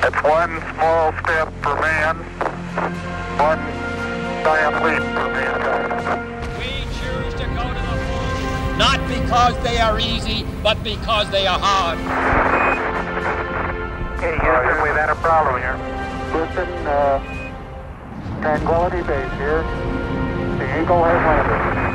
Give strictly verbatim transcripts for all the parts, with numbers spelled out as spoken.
It's one small step for man, one giant leap for mankind. We choose to go to the moon, not because they are easy, but because they are hard. Okay, Houston, we've had a problem here. Houston, uh, Tranquility Base here. The Eagle has landed.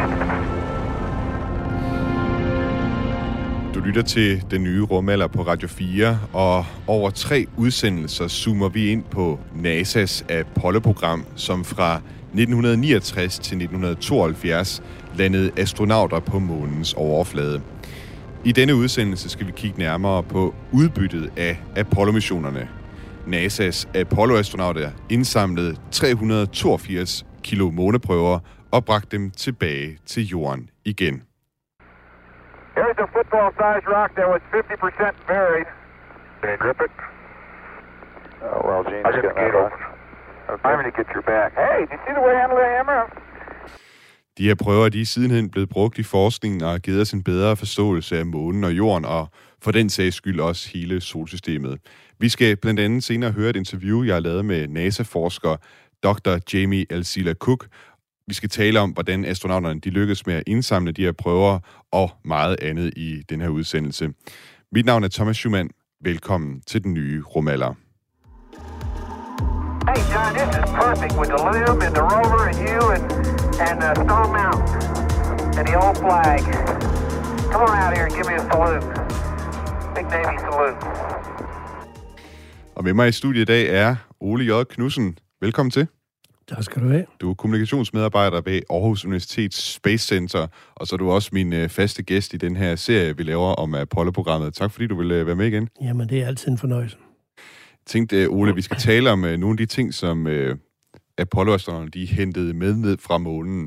Du lytter til Den Nye Rumalder på Radio fire, og over tre udsendelser zoomer vi ind på NASA's Apollo-program, som fra nitten niogtres til nitten tooghalvfjerds landede astronauter på månens overflade. I denne udsendelse skal vi kigge nærmere på udbyttet af Apollo-missionerne. NASA's Apollo-astronauter indsamlede tre hundrede og toogfirs kilo måneprøver og bragte dem tilbage til jorden igen. Here's a football-sized rock that was fifty percent buried. Can you grip it? Oh, well, Gene's I'll get the gate open. Okay. I'm going to get your back. Hey, did you see the way I handle the hammer? De her prøver de er sidenhen blevet brugt i forskningen og har givet os en bedre forståelse af månen og jorden, og for den sags skyld også hele solsystemet. Vi skal blandt andet senere høre et interview, jeg har lavet med NASA-forsker doktor Jamie Alcila Cook. Vi skal tale om, hvordan astronauterne de lykkes med at indsamle de her prøver og meget andet i den her udsendelse. Mit navn er Thomas Schumann. Velkommen til Den Nye Rumalder. Hey, John, this is perfect with the loom and the rover and you and, and uh, Stone Mountain and the old flag. Come on out here and give me a salute. Big Navy salute. Og med mig i studiet i dag er Ole J. Knudsen. Velkommen til. Tak skal du have. Du er kommunikationsmedarbejder ved Aarhus Universitets Space Center, og så er du også min øh, faste gæst i den her serie, vi laver om Apollo-programmet. Tak fordi du vil øh, være med igen. Jamen, det er altid en fornøjelse. Jeg tænkte, Ole, vi skal tale om øh, nogle af de ting, som øh, Apollo-astronauterne de hentede med ned fra månen.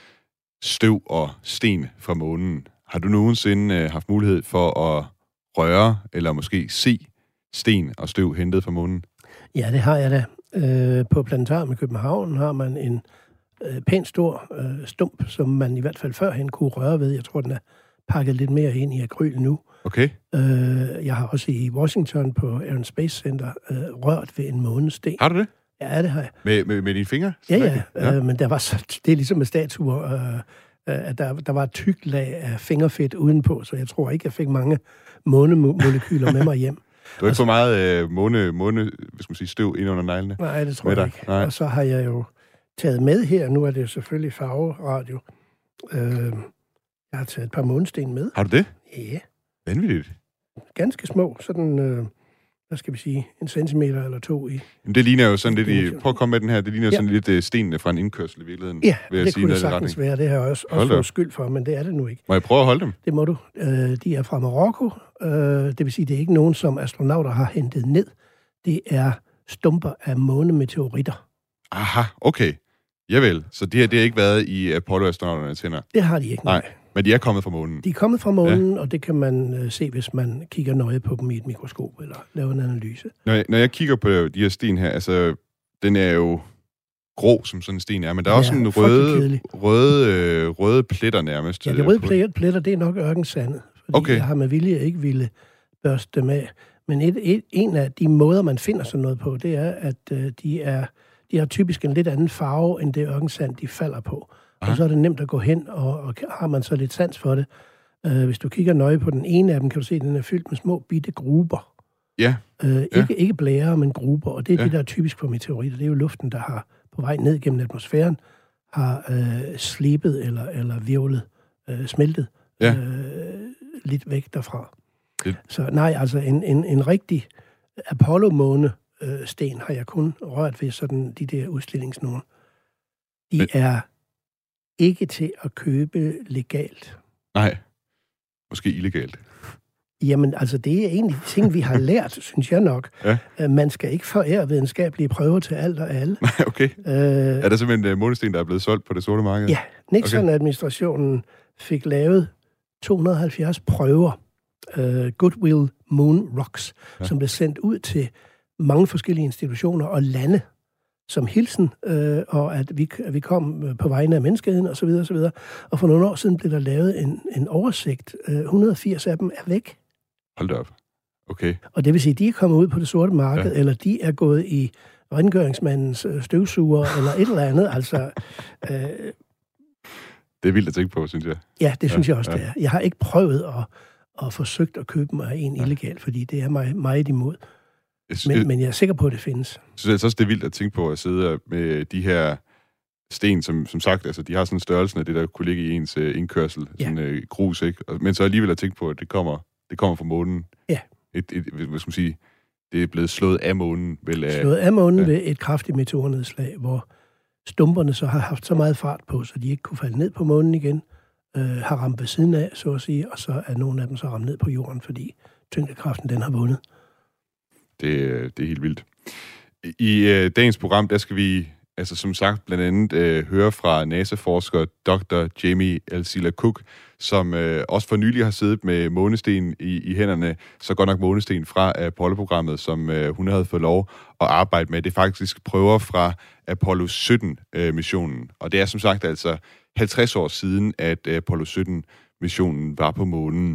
Støv og sten fra månen. Har du nogensinde øh, haft mulighed for at røre, eller måske se sten og støv hentet fra månen? Ja, det har jeg da. Øh, på Planetarium i København har man en øh, pænt stor øh, stump, som man i hvert fald førhen kunne røre ved. Jeg tror, den er pakket lidt mere ind i akryl nu. Okay. Øh, jeg har også i Washington på Air and Space Center øh, rørt ved en månesten. Har du det? Ja, det har jeg. Med, med, med dine fingre? Ja, ja. ja. Øh, men der var så, det er ligesom med statuer, øh, at der, der var et tykt lag af fingerfedt udenpå, så jeg tror ikke, jeg fik mange månemolekyler med mig hjem. Du har ikke for meget øh, måne, måne, hvad skal man sige, støv ind under neglene? Nej, det tror jeg ikke. Nej. Og så har jeg jo taget med her, nu er det jo selvfølgelig farveradio. Øh, jeg har taget et par månesten med. Har du det? Ja. Vanvittigt. Ganske små, sådan, øh, hvad skal vi sige, en centimeter eller to i. Men det ligner jo sådan lidt i, prøv at komme med den her, det ligner jo ja. sådan lidt uh, stenene fra en indkørsel i virkeligheden. Ja, det sige, kunne det sagtens retning. være, det har jeg også, også fået skyld for, men det er det nu ikke. Må jeg prøve at holde dem? Det må du. Øh, de er fra Marokko, øh, det vil sige, det er ikke nogen, som astronauter har hentet ned. Det er stumper af månemeteoritter. Aha, okay. Javel, så det her, det har ikke været i Apollo-astronauternes hænder? Det har de ikke, nej. nej. Men de er kommet fra månen? De er kommet fra månen, ja. Og det kan man øh, se, hvis man kigger nøje på dem i et mikroskop, eller laver en analyse. Når jeg, når jeg kigger på de her sten her, altså, den er jo grå, som sådan en sten er, men der er ja, også sådan røde, røde, øh, røde pletter nærmest. Ja, de røde pletter, pletter det er nok ørkensandet, fordi okay. jeg har med vilje ikke ville børste dem af. Men et, et, en af de måder, man finder sådan noget på, det er, at øh, de, er, de har typisk en lidt anden farve, end det ørkensand, de falder på. Aha. Og så er det nemt at gå hen, og, og har man så lidt sans for det. Uh, hvis du kigger nøje på den ene af dem, kan du se, at den er fyldt med små bitte gruber. Ja. Uh, ikke, ja. ikke blære, men gruber. Og det er ja. det, der er typisk for meteoritter. Det er jo luften, der har på vej ned gennem atmosfæren, har uh, slebet eller, eller virvlet, uh, smeltet ja. uh, lidt væk derfra. Det. Så nej, altså en, en, en rigtig Apollo-måne-sten har jeg kun rørt ved sådan de der udstillingsnogen. De men. er ikke til at købe legalt. Nej, måske illegalt. Jamen, altså, det er en af de ting, vi har lært, synes jeg nok. Ja. Man skal ikke forære videnskabelige prøver til alt og alle. Okay. Øh, er der simpelthen en månesten, der er blevet solgt på det sorte marked? Ja, Nixon-administrationen fik lavet to hundrede og halvfjerds prøver, uh, Goodwill Moon Rocks, ja. som blev sendt ud til mange forskellige institutioner og lande, som hilsen, øh, og at vi, at vi kom på vegne af menneskeheden, og så videre, og så videre. Og for nogle år siden blev der lavet en, en oversigt. Øh, et hundrede og firs af dem er væk. Hold da op. Okay. Og det vil sige, at de er kommet ud på det sorte marked, ja. eller de er gået i rengøringsmandens støvsuger, eller et eller andet. Altså, øh, det er vildt at tænke på, synes jeg. Ja, det synes ja, jeg også, ja. det er. Jeg har ikke prøvet at, at forsøgt at købe mig en ja. illegalt, fordi det er mig meget imod. Men, jeg, men jeg er sikker på, at det findes. Jeg synes også, det er vildt at tænke på at sidde med de her sten, som, som sagt, altså, de har sådan en størrelse af det, der kunne ligge i ens uh, indkørsel, ja. sådan uh, grus, ikke? Men så alligevel at tænke på, at det kommer, det kommer fra månen. Ja. Et, et, hvad skal man sige, det er blevet slået af månen. Vel, af, slået af månen ja. ved et kraftigt meteornedslag, hvor stumperne så har haft så meget fart på, så de ikke kunne falde ned på månen igen, øh, har ramt ved siden af, så at sige, og så er nogle af dem så ramt ned på jorden, fordi tyngdekraften, den har vundet. Det, det er helt vildt. I øh, dagens program, der skal vi, altså som sagt, blandt andet øh, høre fra NASA-forsker doktor Jamie Alcila-Cook, som øh, også for nylig har siddet med månesten i, i hænderne, så godt nok månesten fra Apollo-programmet, som øh, hun havde fået lov at arbejde med. Det er faktisk prøver fra Apollo sytten-missionen. Øh, og det er som sagt altså halvtreds år siden, at Apollo sytten-missionen var på månen.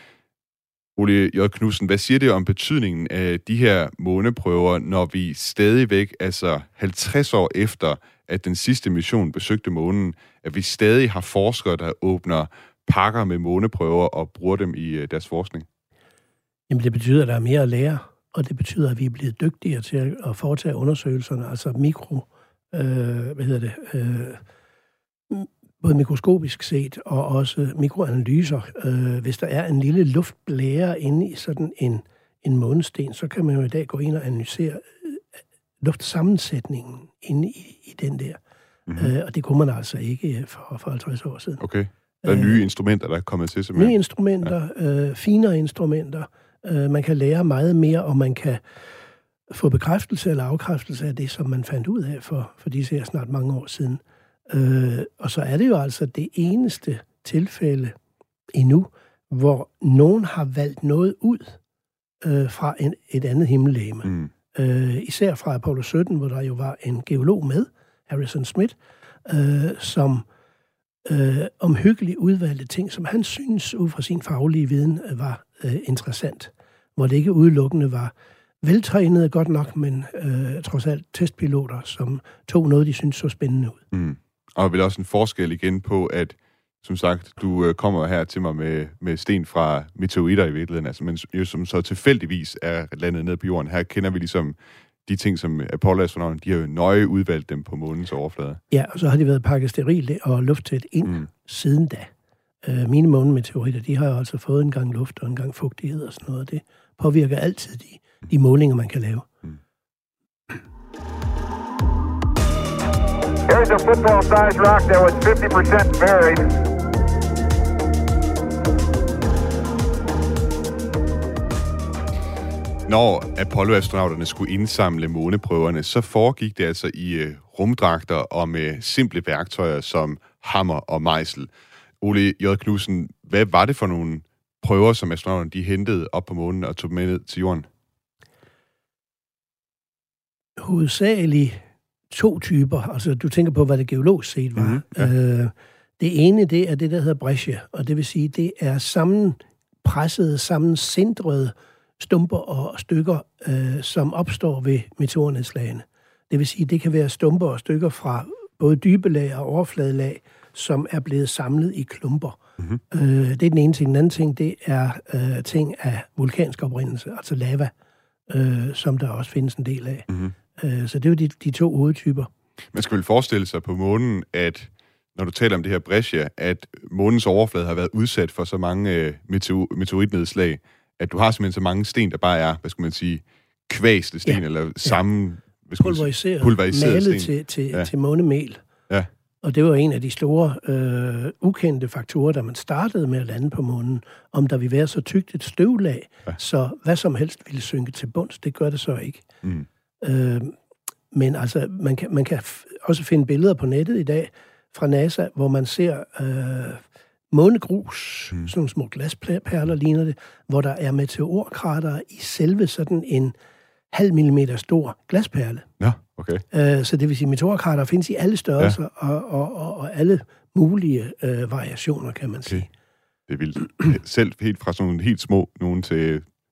Ole J. Knudsen, hvad siger det om betydningen af de her måneprøver, når vi stadigvæk, altså halvtreds år efter, at den sidste mission besøgte månen, at vi stadig har forskere, der åbner pakker med måneprøver og bruger dem i deres forskning? Jamen det betyder, at der er mere at lære, og det betyder, at vi er blevet dygtigere til at foretage undersøgelserne, altså mikro, øh, hvad hedder det, øh, både mikroskopisk set og også mikroanalyser. Øh, hvis der er en lille luftblære inde i sådan en, en månesten, så kan man jo i dag gå ind og analysere luftsammensætningen inde i, i den der. Mm-hmm. Øh, og det kunne man altså ikke for, for halvtreds år siden. Okay. Der er nye øh, instrumenter, der er kommet til simpelthen. Nye instrumenter, ja. øh, finere instrumenter. Øh, man kan lære meget mere, og man kan få bekræftelse eller afkræftelse af det, som man fandt ud af for, for disse her snart mange år siden. Øh, og så er det jo altså det eneste tilfælde endnu, hvor nogen har valgt noget ud øh, fra en, et andet himmellegeme. Mm. Øh, især fra Apollo sytten, hvor der jo var en geolog med, Harrison Smith, øh, som øh, omhyggeligt udvalgte ting, som han synes ud fra sin faglige viden øh, var øh, interessant. Hvor det ikke udelukkende var veltrænede godt nok, men øh, trods alt testpiloter, som tog noget, de synes så spændende ud. Mm. Og vel også en forskel igen på, at som sagt, du øh, kommer her til mig med, med sten fra meteoritter i virkeligheden, altså, men jo, som så tilfældigvis er landet ned på jorden. Her kender vi ligesom de ting, som Apollo-astronauterne, de har jo nøje udvalgt dem på månens overflade. Ja, og så har de været pakket sterilt og lufttæt ind mm. siden da. Øh, mine månemeteoritter, de har jo altså fået en gang luft og en gang fugtighed og sådan noget. Det påvirker altid de, de målinger, man kan lave. Mm. Here's a football-sized rock that was fifty percent buried. Når Apollo-astronauterne skulle indsamle måneprøverne, så foregik det altså i uh, rumdragter og med simple værktøjer som hammer og mejsel. Ole J. Knudsen, hvad var det for nogle prøver, som astronauterne de hentede op på månen og tog med ned til jorden? Hovedsageligt to typer. Altså, du tænker på, hvad det geologisk set var. Mm-hmm, ja. øh, det ene, det er det, der hedder breccia, og det vil sige, det er sammenpressede, sammensindrede stumper og stykker, øh, som opstår ved meteornedslagene. Det vil sige, det kan være stumper og stykker fra både dybe lag og overfladelag, som er blevet samlet i klumper. Mm-hmm. Øh, det er den ene ting. Den anden ting, det er øh, ting af vulkansk oprindelse, altså lava, øh, som der også findes en del af. Mm-hmm. Øh, så det er jo de, de to hovedtyper. Man skal vel forestille sig på månen, at når du taler om det her breccia, at månens overflade har været udsat for så mange øh, meteor- meteoritnedslag, at du har simpelthen så mange sten, der bare er, hvad skal man sige, kvæste sten, ja. eller sammen... Ja. Pulveriseret, pulveriseret malet til, til, ja. til månemel. Ja. Og det var en af de store, øh, ukendte faktorer, da man startede med at lande på månen, om der ville være så tykt et støvlag, ja. så hvad som helst ville synke til bunds. Det gør det så ikke. Mm. Øh, men altså, man kan, man kan f- også finde billeder på nettet i dag fra NASA, hvor man ser øh, månegrus, mm. sådan nogle små glasperler ligner det, hvor der er meteorkrater i selve sådan en halv millimeter stor glasperle. Ja, okay. Øh, så det vil sige, at meteorkrater findes i alle størrelser ja. og, og, og, og alle mulige øh, variationer, kan man okay. sige. Det er vildt. Selv helt fra sådan nogle helt små nogen til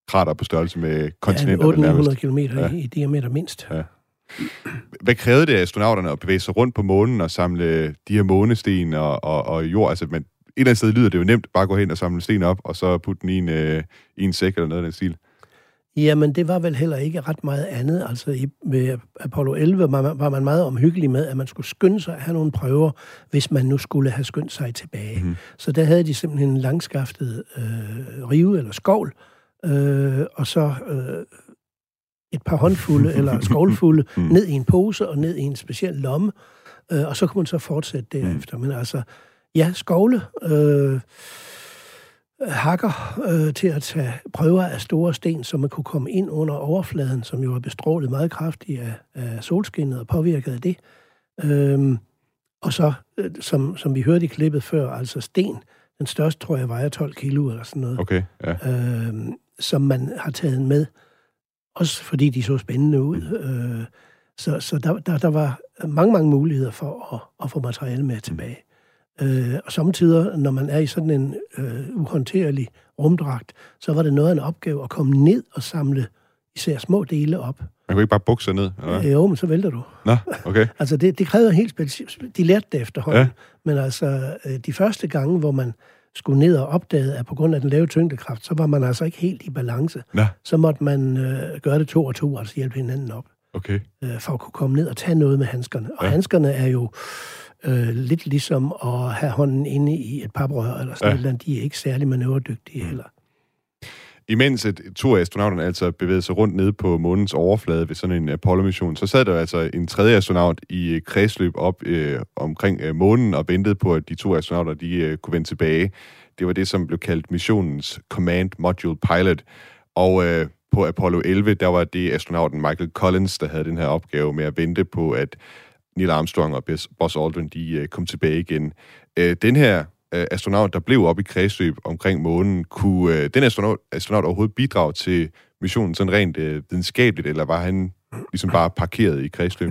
krater på størrelse med kontinenter. Ja, otte hundrede kilometer ja. i, i diameter mindst. Ja. Hvad krævede det af astronauterne at bevæge sig rundt på månen og samle de her månesten og, og, og jord? Altså, man, et eller andet sted lyder det jo nemt, bare gå hen og samle sten op, og så putte den i en, øh, i en sæk eller noget af den stil. Jamen, det var vel heller ikke ret meget andet. Altså, i, med Apollo elleve var man, var man meget omhyggelig med, at man skulle skynde sig at have nogle prøver, hvis man nu skulle have skyndt sig tilbage. Mm. Så der havde de simpelthen en langskaftet øh, rive eller skovl, øh, og så øh, et par håndfulde eller skovlfulde mm. ned i en pose og ned i en speciel lomme, øh, og så kunne man så fortsætte derefter. Mm. Men altså, ja, skovle... Øh, hakker øh, til at tage prøver af store sten, så man kunne komme ind under overfladen, som jo er bestrålet meget kraftigt af, af solskinnet og påvirket af det. Øhm, og så, øh, som, som vi hørte i klippet før, altså sten, den største tror jeg vejer tolv kilo eller sådan noget, okay, ja. øhm, som man har taget med, også fordi de så spændende ud. Øh, så så der, der, der var mange, mange muligheder for at, at få materiale med tilbage. Øh, og samtidig, når man er i sådan en øh, uhåndterlig rumdragt, så var det noget af en opgave at komme ned og samle især små dele op. Man kunne ikke bare bukse ned? Eller? Øh, jo, men så vælter du. Nå, okay. Altså, det, det krævede helt specifikt. De lærte det efterhånden. Ja. Men altså, øh, de første gange, hvor man skulle ned og opdage, at på grund af den lave tyngdekraft, så var man altså ikke helt i balance. Nå. Så måtte man øh, gøre det to og to, altså hjælpe hinanden op. Okay. Øh, for at kunne komme ned og tage noget med handskerne. Og ja. handskerne er jo... Øh, lidt ligesom at have hånden inde i et paprør, eller sådan ja. noget, de er ikke særlig manøvredygtige mm. heller. Imens et, to af astronauterne altså bevægede sig rundt nede på månens overflade ved sådan en Apollo-mission, så sad der altså en tredje astronaut i kredsløb op øh, omkring øh, månen og ventede på, at de to astronauter de, øh, kunne vende tilbage. Det var det, som blev kaldt missionens Command Module Pilot. Og øh, på Apollo elleve, der var det astronauten Michael Collins, der havde den her opgave med at vente på, at Neil Armstrong og Buzz Aldrin, de uh, kom tilbage igen. Uh, den her uh, astronaut, der blev oppe i kredsløb omkring månen, kunne uh, den astronaut, astronaut overhovedet bidrage til missionen sådan rent uh, videnskabeligt, eller var han ligesom bare parkeret i kredsløb?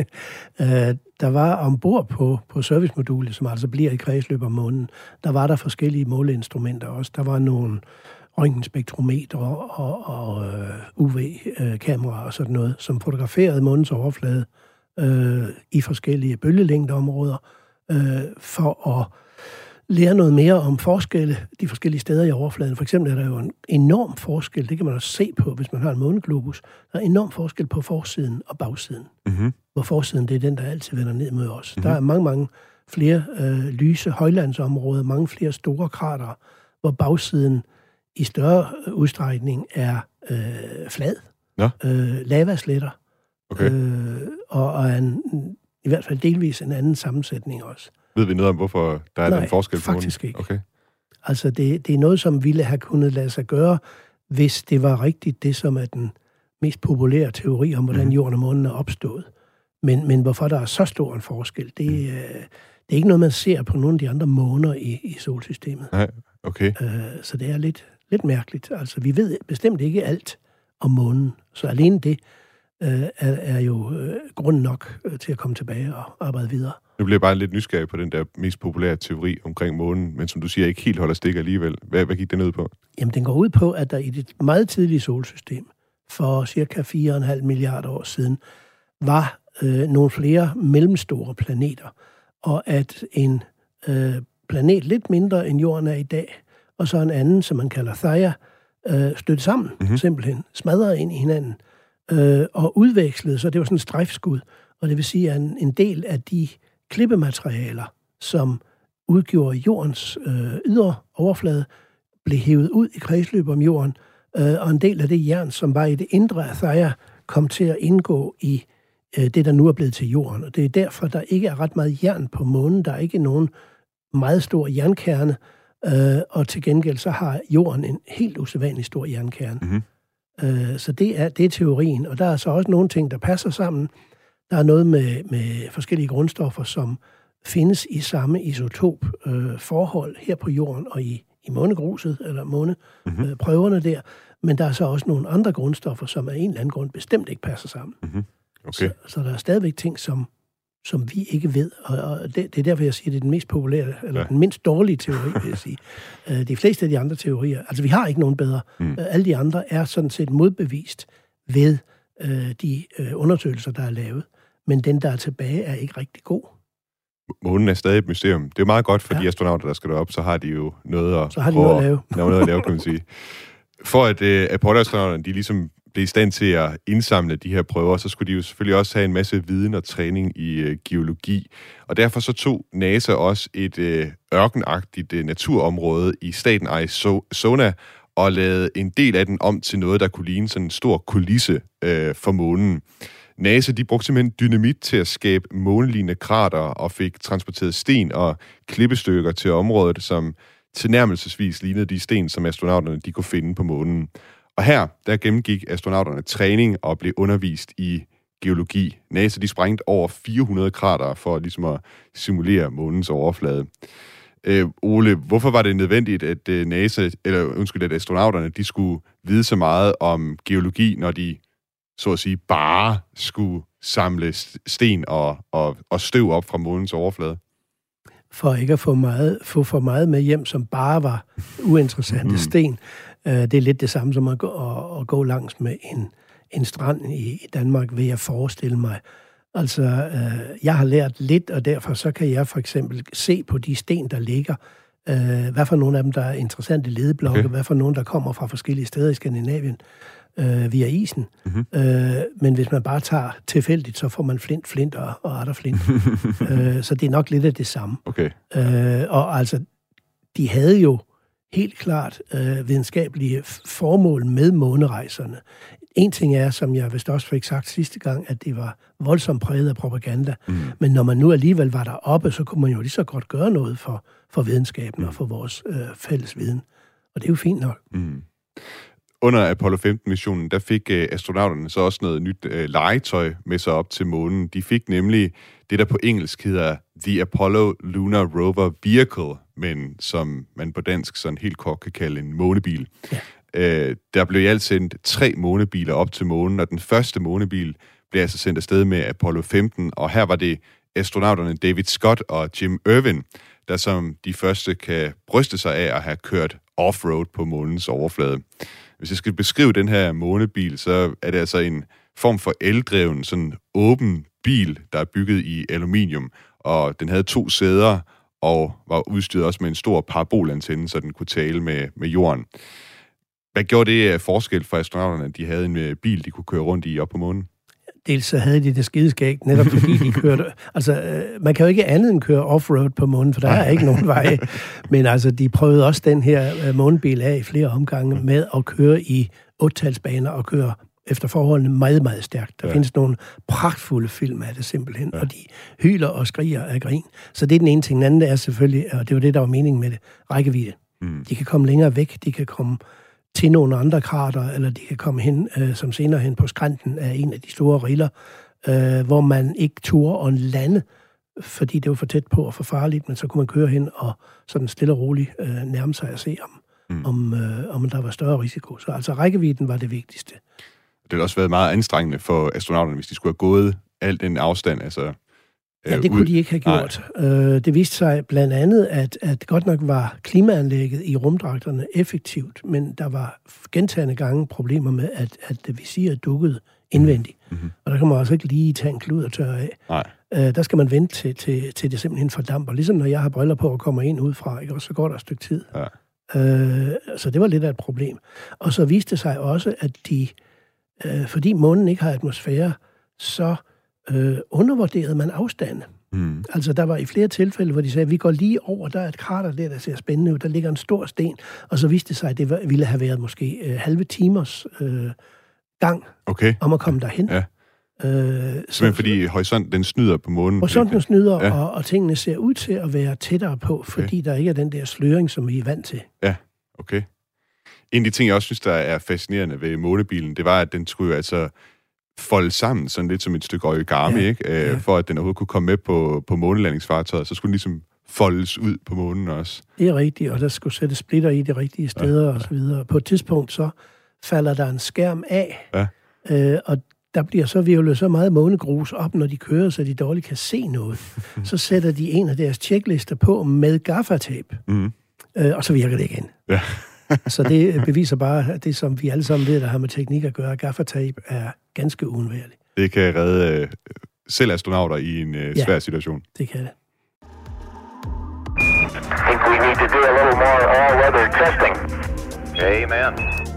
uh, der var ombord på, på servicemodulet, som altså bliver i kredsløb om månen, der var der forskellige måleinstrumenter også. Der var nogle røntgenspektrometer og, og, og uh, U V-kameraer og sådan noget, som fotograferede månens overflade Øh, i forskellige bølgelængdeområder, øh, for at lære noget mere om forskelle de forskellige steder i overfladen. For eksempel er der jo en enorm forskel, det kan man også se på, hvis man har en måneglobus, der er enorm forskel på forsiden og bagsiden. Mm-hmm. Hvor forsiden, det er den, der altid vender ned mod os. Mm-hmm. Der er mange, mange flere øh, lyse højlandsområder, mange flere store kratere, hvor bagsiden i større udstrækning er øh, flad. Ja. Øh, lavasletter. Okay. Øh, og, og en, i hvert fald delvis en anden sammensætning også. Ved vi noget om, hvorfor der er Nej, den forskel på faktisk ikke. Okay. Altså, det, det er noget, som ville have kunnet lade sig gøre, hvis det var rigtigt det, som er den mest populære teori om, hvordan mm. jorden og månen er opstået. Men, men hvorfor der er så stor en forskel, det, mm. øh, det er ikke noget, man ser på nogle af de andre måner i, i solsystemet. Nej, okay. Øh, så det er lidt, lidt mærkeligt. Altså, vi ved bestemt ikke alt om månen, så alene det er, er jo øh, grund nok øh, til at komme tilbage og arbejde videre. Nu bliver jeg bare lidt nysgerrig på den der mest populære teori omkring månen, men som du siger, ikke helt holder stik alligevel. Hvad, hvad gik den ud på? Jamen, den går ud på, at der i det meget tidlige solsystem, for cirka fire komma fem milliarder år siden, var øh, nogle flere mellemstore planeter, og at en øh, planet lidt mindre end jorden er i dag, og så en anden, som man kalder Theia, øh, stødte sammen, mm-hmm. simpelthen, smadrede ind i hinanden, øh, og udvekslede, så det var sådan en strejfskud, og det vil sige, at en, en del af de klippematerialer, som udgjorde jordens øh, ydre overflade, blev hævet ud i kredsløb om jorden, øh, og en del af det jern, som var i det indre af Theia, kom til at indgå i øh, det, der nu er blevet til jorden. Og det er derfor, der ikke er ret meget jern på månen. Der er ikke nogen meget stor jernkerne, øh, og til gengæld så har jorden en helt usædvanlig stor jernkerne. Mm-hmm. Øh, så det er, det er teorien, og der er så også nogle ting, der passer sammen. Der er noget med, med forskellige grundstoffer, som findes i samme isotop øh, forhold her på jorden og i, i månegruset, eller måneprøverne mm-hmm. øh, der. Men der er så også nogle andre grundstoffer, som af en eller anden grund bestemt ikke passer sammen. Mm-hmm. Okay. Så, så der er stadigvæk ting, som som vi ikke ved. Og, og det, det er derfor, jeg siger, at det er den mest populære, eller ja. den mindst dårlige teori, vil jeg sige. De fleste af de andre teorier, altså vi har ikke nogen bedre. Mm. Alle de andre er sådan set modbevist ved øh, de øh, undersøgelser, der er lavet. Men den, der er tilbage, er ikke rigtig god. Månen er stadig et mysterium. Det er meget godt for ja. de astronauter, der skal derop, så har de jo noget at, så har de noget at lave. noget at lave, kan man sige. For at øh, Apollo-astronauterne, de ligesom blev i stand til at indsamle de her prøver, så skulle de jo selvfølgelig også have en masse viden og træning i øh, geologi. Og derfor så tog NASA også et øh, ørkenagtigt øh, naturområde i staten Arizona og lavede en del af den om til noget, der kunne ligne sådan en stor kulisse øh, for månen. NASA, de brugte simpelthen dynamit til at skabe månelignende krater og fik transporteret sten og klippestykker til området, som tilnærmelsesvis lignede de sten, som astronauterne de kunne finde på månen. Og her, der gennemgik astronauterne træning og blev undervist i geologi. NASA, de sprængte over fire hundrede krater for ligesom at simulere månens overflade. Øh, Ole, hvorfor var det nødvendigt, at øh, NASA, eller undskyld, at astronauterne, de skulle vide så meget om geologi, når de så at sige, bare skulle samle sten og, og, og støv op fra månens overflade? For ikke at få, meget, få for meget med hjem, som bare var uinteressante mm. sten. Uh, det er lidt det samme som at gå, at, at gå langs med en, en strand i, i Danmark, vil jeg forestille mig. Altså, uh, jeg har lært lidt, og derfor så kan jeg for eksempel se på de sten, der ligger, uh, hvad for nogle af dem, der er interessante ledeblokke, okay. hvad for nogle, der kommer fra forskellige steder i Skandinavien, Øh, via isen. Mm-hmm. Øh, men hvis man bare tager tilfældigt, så får man flint, flint og, og atter flint. øh, så det er nok lidt af det samme. Okay. Øh, og altså, de havde jo helt klart øh, videnskabelige formål med månerejserne. En ting er, som jeg vist også fik sagt sidste gang, at det var voldsomt præget af propaganda. Mm. Men når man nu alligevel var deroppe, så kunne man jo lige så godt gøre noget for, for videnskaben mm. og for vores øh, fælles viden. Og det er jo fint nok. Mm. Under Apollo femten-missionen, der fik øh, astronauterne så også noget nyt øh, legetøj med sig op til månen. De fik nemlig det, der på engelsk hedder The Apollo Lunar Rover Vehicle, men som man på dansk sådan helt kort kan kalde en månebil. Ja. Øh, der blev i alt sendt tre månebiler op til månen, og den første månebil blev altså sendt afsted med Apollo femten, og her var det astronauterne David Scott og Jim Irwin, der som de første kan bryste sig af at have kørt off-road på månens overflade. Hvis jeg skal beskrive den her månebil, så er det altså en form for eldreven, sådan åben bil, der er bygget i aluminium, og den havde to sæder og var udstyret også med en stor parabolantenne, så den kunne tale med, med jorden. Hvad gjorde det af forskel for astronauterne, at de havde en bil, de kunne køre rundt i op på månen? Dels så havde de det skideskægt, netop fordi de kørte... Altså, øh, man kan jo ikke andet end køre off-road på månen, for der er ikke nogen veje. Men altså, de prøvede også den her øh, månebil af i flere omgange med at køre i otte-talsbaner og køre efter forholdene meget, meget stærkt. Der ja. findes nogle pragtfulde film af det simpelthen, ja. og de hyler og skriger af grin. Så det er den ene ting. Den anden er selvfølgelig, og det var det, der var meningen med det, rækkevidde. Mm. De kan komme længere væk, de kan komme til nogle andre krater, eller de kan komme hen, øh, som senere hen på skrænten af en af de store riller, øh, hvor man ikke turde at lande, fordi det var for tæt på og for farligt, men så kunne man køre hen og sådan stille og roligt øh, nærme sig at se, om, mm. om, øh, om der var større risiko. Så altså rækkevidden var det vigtigste. Det har også været meget anstrengende for astronauterne, hvis de skulle have gået alt den afstand, altså... Ja, det kunne de ikke have gjort. Øh, det viste sig blandt andet, at, at godt nok var klimaanlægget i rumdragterne effektivt, men der var gentagne gange problemer med, at, at visiret dukkede indvendigt. Mm-hmm. Og der kan man altså ikke lige tage en klud og tørre af. Nej. Øh, der skal man vente til, til, til det simpelthen fordamper. Ligesom når jeg har briller på og kommer ind udefra, ikke? Og så går der et stykke tid. Ja. Øh, så det var lidt af et problem. Og så viste det sig også, at de, øh, fordi månen ikke har atmosfære, så Øh, undervurderede man afstanden. Mm. Altså, der var i flere tilfælde, hvor de sagde, at vi går lige over, der er et krater der, der ser spændende ud, der ligger en stor sten, og så viste det sig, at det var, ville have været måske øh, halve timers øh, gang okay. om at komme derhen. Ja. Øh, så, fordi horisonten, den snyder på månen. Horisonten snyder, ja. og, og tingene ser ud til at være tættere på, fordi okay. der ikke er den der sløring, som vi er vant til. Ja, okay. En af de ting, jeg også synes, der er fascinerende ved månebilen, det var, at den skulle altså folde sammen, sådan lidt som et stykke origami, ja, ikke? Øh, ja. For at den overhovedet kunne komme med på, på månelandingsfartøjet, så skulle den ligesom foldes ud på månen også. Det er rigtigt, og der skulle sætte splitter i de rigtige steder, ja, ja. og så videre. På et tidspunkt, så falder der en skærm af, ja. øh, og der bliver så virvlet så meget månegrus op, når de kører, så de dårligt kan se noget. Så sætter de en af deres checklister på med gaffatape, mm. øh, og så virker det igen. Ja. Så det beviser bare, at det, som vi alle sammen ved, der har med teknik at gøre, gaffatape er ganske uundværligt. Det kan redde øh, selv astronauter i en øh, svær ja, situation. Det kan det. I think we need to do a little more all-weather testing. Amen.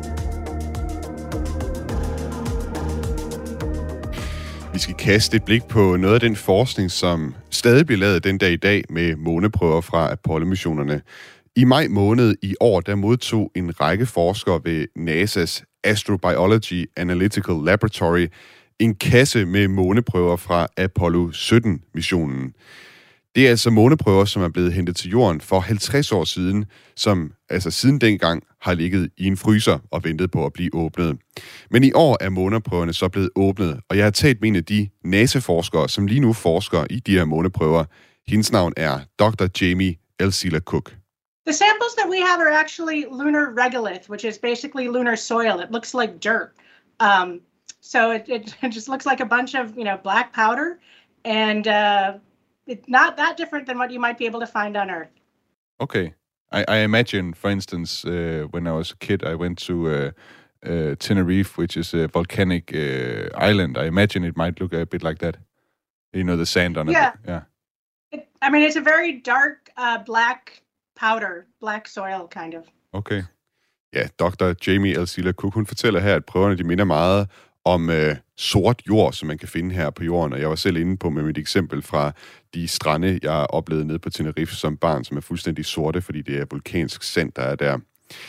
Vi skal kaste et blik på noget af den forskning, som stadig bliver lavet den dag i dag med måneprøver fra Apollo-missionerne. I maj måned i år, der modtog en række forskere ved NASA's Astrobiology Analytical Laboratory en kasse med måneprøver fra Apollo sytten-missionen. Det er altså måneprøver, som er blevet hentet til jorden for halvtreds år siden, som altså siden dengang har ligget i en fryser og ventet på at blive åbnet. Men i år er måneprøverne så blevet åbnet, og jeg har talt med en af de NASA-forskere, som lige nu forsker i de her måneprøver. Hendes navn er doktor Jamie Elsila Cook. The samples that we have are actually lunar regolith, which is basically lunar soil. It looks like dirt. Um, so it, it, it just looks like a bunch of, you know, black powder, and uh, it's not that different than what you might be able to find on Earth. Okay. I, I imagine, for instance, uh, when I was a kid, I went to uh, uh, Tenerife, which is a volcanic uh, island. I imagine it might look a bit like that. You know, the sand on yeah. it. Yeah. It, I mean, it's a very dark, uh, black powder, black soil, kind of. Okay. Ja, doktor Jamie Elsila Cook, hun fortæller her, at prøverne de minder meget om øh, sort jord, som man kan finde her på jorden. Og jeg var selv inde på med mit eksempel fra de strande, jeg oplevede nede på Tenerife som barn, som er fuldstændig sorte, fordi det er vulkansk sand, der er der.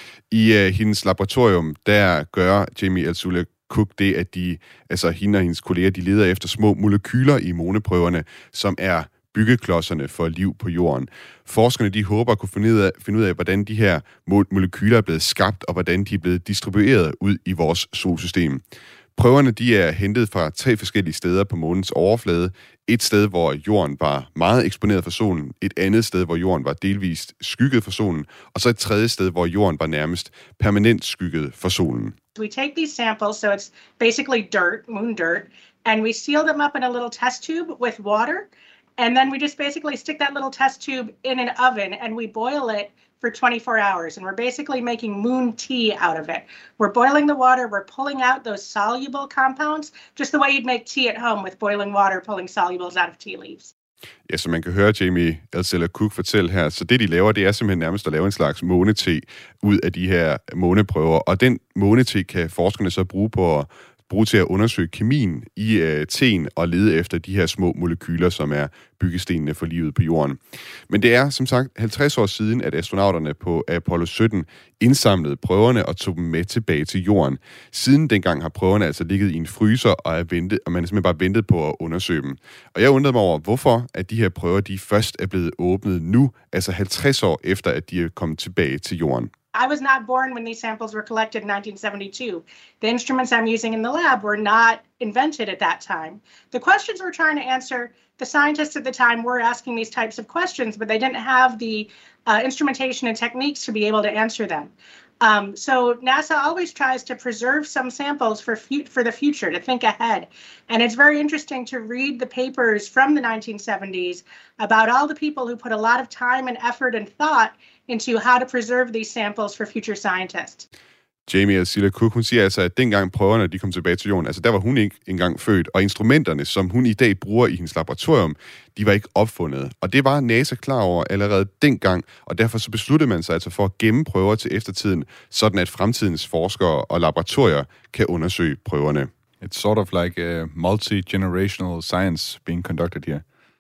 I øh, hendes laboratorium, der gør Jamie Elsila Cook det, at de, altså hende og hendes kolleger, de leder efter små molekyler i måneprøverne, som er byggeklodserne for liv på jorden. Forskerne de håber at kunne finde ud af, finde ud af hvordan de her molekyler er blevet skabt, og hvordan de er blevet distribueret ud i vores solsystem. Prøverne de er hentet fra tre forskellige steder på månens overflade. Et sted, hvor jorden var meget eksponeret for solen. Et andet sted, hvor jorden var delvist skygget for solen. Og så et tredje sted, hvor jorden var nærmest permanent skygget for solen. We take these samples, so it's basically dirt, moon dirt, and we seal them up in a little test tube with water. And then we just basically stick that little test tube in an oven and we boil it for twenty-four hours. And we're basically making moon tea out of it. We're boiling the water, we're pulling out those soluble compounds, just the way you'd make tea at home with boiling water, pulling solubles out of tea leaves. Ja, som man kan høre Jamie Elsila Cook fortælle her, så det de laver, det er simpelthen nærmest at lave en slags månete ud af de her måneprøver. Og den månete kan forskerne så bruge på at bruge til at undersøge kemien i øh, teen og lede efter de her små molekyler, som er byggestenene for livet på jorden. Men det er som sagt halvtreds år siden, at astronauterne på Apollo sytten indsamlede prøverne og tog dem med tilbage til jorden. Siden dengang har prøverne altså ligget i en fryser og, er ventet, og man er simpelthen bare ventet på at undersøge dem. Og jeg undrede mig over, hvorfor at de her prøver de først er blevet åbnet nu, altså halvtreds år efter, at de er kommet tilbage til jorden. I was not born when these samples were collected in nineteen seventy-two. The instruments I'm using in the lab were not invented at that time. The questions we're trying to answer, the scientists at the time were asking these types of questions, but they didn't have the uh, instrumentation and techniques to be able to answer them. Um, so NASA always tries to preserve some samples for fu- for the future, to think ahead. And it's very interesting to read the papers from the nineteen seventies about all the people who put a lot of time and effort and thought into how to preserve these samples for future scientists. Jamie Elsila Cook, hun siger altså, at dengang prøverne de kom tilbage til jorden, altså der var hun ikke engang født, og instrumenterne, som hun i dag bruger i hendes laboratorium, de var ikke opfundet. Og det var NASA klar over allerede dengang, og derfor så besluttede man sig altså for at gemme prøver til eftertiden, sådan at fremtidens forskere og laboratorier kan undersøge prøverne. It's sort of like a multi-generational science being conducted here.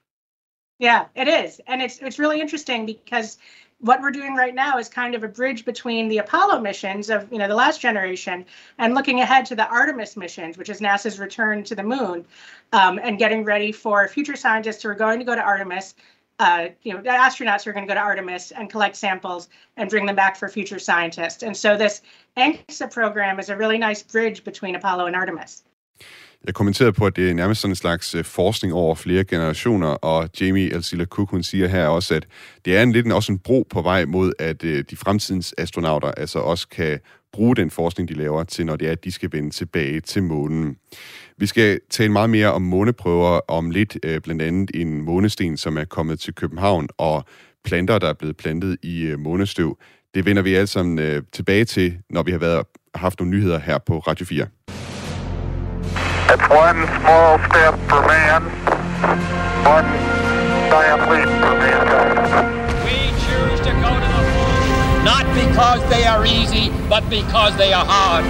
Yeah, it is. And it's it's really interesting because what we're doing right now is kind of a bridge between the Apollo missions of, you know, the last generation and looking ahead to the Artemis missions, which is NASA's return to the moon, um, and getting ready for future scientists who are going to go to Artemis, uh, you know, astronauts who are going to go to Artemis and collect samples and bring them back for future scientists. And so this ANCSA program is a really nice bridge between Apollo and Artemis. Jeg kommenterede på, at det er nærmest sådan en slags forskning over flere generationer, og Jamie Elsila Cook, hun siger her også, at det er en lidt også en bro på vej mod, at de fremtidens astronauter altså også kan bruge den forskning, de laver, til når det er, at de skal vende tilbage til månen. Vi skal tale meget mere om måneprøver om lidt, blandt andet en månesten, som er kommet til København, og planter, der er blevet plantet i månestøv. Det vender vi alle sammen tilbage til, når vi har været, haft nogle nyheder her på Radio fire. It's one small step for man, one giant leap for mankind. We choose to go to the moon, not because they are easy, but because they are hard.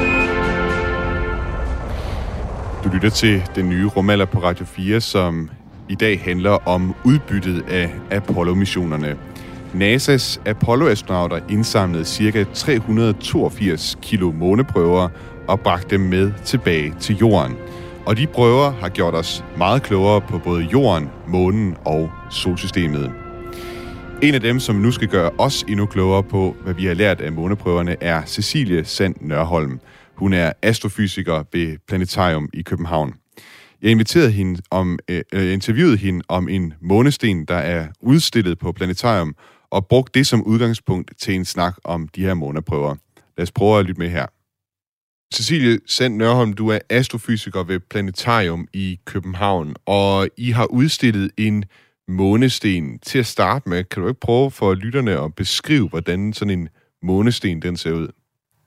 Du lytter til den nye rumalder på Radio fire, som i dag handler om udbyttet af Apollo-missionerne. NASA's Apollo-astronauter indsamlede ca. tre hundrede og toogfirs kilo måneprøver og bragte dem med tilbage til jorden. Og de prøver har gjort os meget klogere på både jorden, månen og solsystemet. En af dem, som nu skal gøre os endnu klogere på, hvad vi har lært af måneprøverne, er Cecilie Sand Nørholm. Hun er astrofysiker ved Planetarium i København. Jeg inviterede hende om, øh, interviewede hende om en månesten, der er udstillet på Planetarium, og brugte det som udgangspunkt til en snak om de her måneprøver. Lad os prøve at lytte med her. Cecilie Sand Nørholm, du er astrofysiker ved Planetarium i København, og I har udstillet en månesten. Til at starte med, kan du ikke prøve for lytterne at beskrive, hvordan sådan en månesten den ser ud?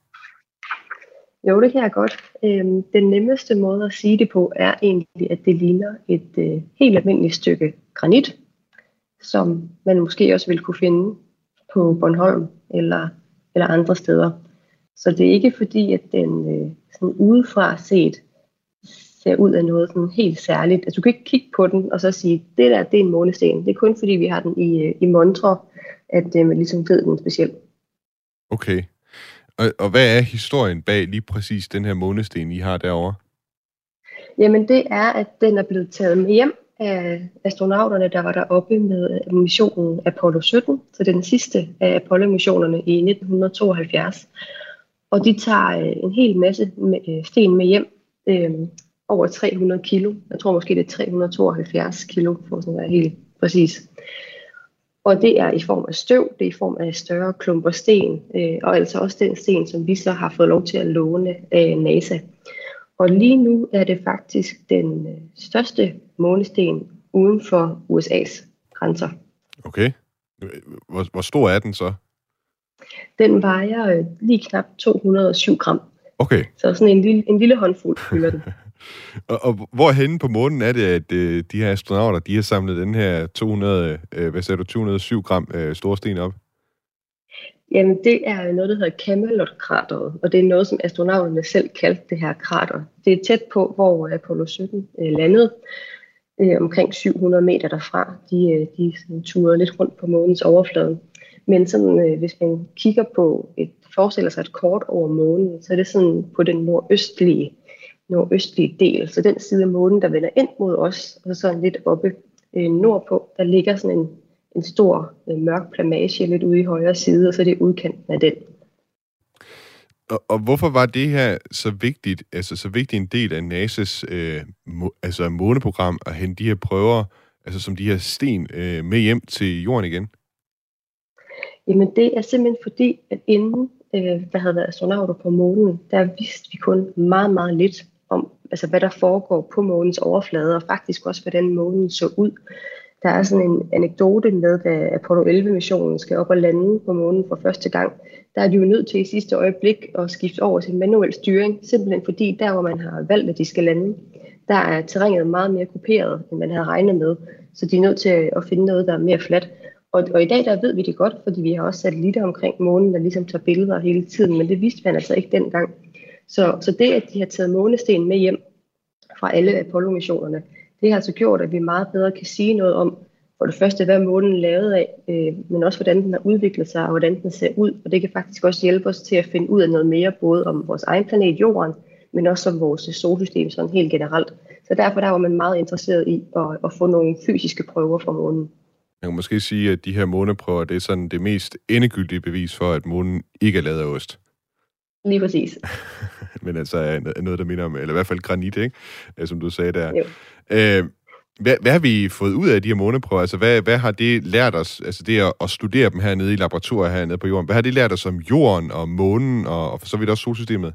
Jo, det kan jeg godt. Øhm, den nemmeste måde at sige det på er egentlig, at det ligner et øh, helt almindeligt stykke granit, som man måske også vil kunne finde på Bornholm eller, eller andre steder. Så det er ikke fordi, at den øh, sådan udefra set ser ud af noget sådan helt særligt. Altså, du kan ikke kigge på den og så sige, det der, det er en månesten. Det er kun fordi, vi har den i, i montre, at øh, man ligesom ved den specielt. Okay. Og, og hvad er historien bag lige præcis den her månesten, I har derovre? Jamen, det er, at den er blevet taget med hjem af astronauterne, der var deroppe med missionen Apollo sytten. Så det er den sidste af Apollo-missionerne i nitten tooghalvfjerds. Og de tager en hel masse sten med hjem, øh, over tre hundrede kilo. Jeg tror måske, det er tre hundrede og tooghalvfjerds kilo, for at være helt præcis. Og det er i form af støv, det er i form af større klumper sten, øh, og altså også den sten, som vi så har fået lov til at låne af NASA. Og lige nu er det faktisk den øh, største månesten uden for U S A's grænser. Okay. Hvor, hvor stor er den så? Den vejer øh, lige knap to hundrede og syv gram. Okay. Så sådan en lille, en lille håndfuld fylder den. og, og hvorhenne på månen er det, at øh, de her astronauter, de har samlet den her to hundrede, øh, hvad sagde du, to hundrede og syv gram øh, store sten op? Jamen, det er noget, der hedder Camelot-krateret, og det er noget, som astronauterne selv kaldte det her krater. Det er tæt på, hvor Apollo sytten øh, landede, øh, omkring syv hundrede meter derfra. De, øh, de sådan, turede lidt rundt på månens overflade. Men sådan, øh, hvis man kigger på et, forestiller sig et kort over månen, så er det sådan på den nordøstlige, nordøstlige del. Så den side af månen, der vender ind mod os, og så sådan lidt oppe øh, nordpå, der ligger sådan en, en stor øh, mørk plamage lidt ude i højre side, og så er det udkanten af den. Og, og hvorfor var det her så vigtigt, altså så vigtig en del af NASA's øh, må, altså måneprogram at hente de her prøver, altså som de her sten, øh, med hjem til jorden igen? Jamen det er simpelthen fordi, at inden øh, der havde været astronauter på månen, der vidste vi kun meget, meget lidt om, altså hvad der foregår på månens overflade, og faktisk også, hvordan månen så ud. Der er sådan en anekdote med, da Apollo elleve-missionen skal op og lande på månen for første gang. Der er de jo nødt til i sidste øjeblik at skifte over til manuel styring, simpelthen fordi der, hvor man har valgt, at de skal lande, der er terrænet meget mere kuperet, end man havde regnet med. Så de er nødt til at finde noget, der er mere fladt. Og, og i dag der ved vi det godt, fordi vi har også satellitter omkring månen, der ligesom tager billeder hele tiden, men det vidste man altså ikke dengang. Så, så det, at de har taget månesten med hjem fra alle Apollo-missionerne, det har altså gjort, at vi meget bedre kan sige noget om, for det første, hvad månen er lavet af, øh, men også hvordan den har udviklet sig, og hvordan den ser ud. Og det kan faktisk også hjælpe os til at finde ud af noget mere, både om vores egen planet Jorden, men også om vores solsystem sådan helt generelt. Så derfor der var man meget interesseret i at, at få nogle fysiske prøver fra månen. Jeg kan måske sige, at de her måneprøver, det er sådan det mest endegyldige bevis for, at månen ikke er lavet af ost. Lige præcis. Men altså noget, der minder om, eller i hvert fald granit, ikke? Som du sagde der. Jo. Øh, Hvad, hvad har vi fået ud af de her måneprøver? Altså, hvad, hvad har det lært os, altså det at, at studere dem hernede i laboratorier hernede på jorden? Hvad har det lært os om jorden og månen, og, og for så vidt også solsystemet?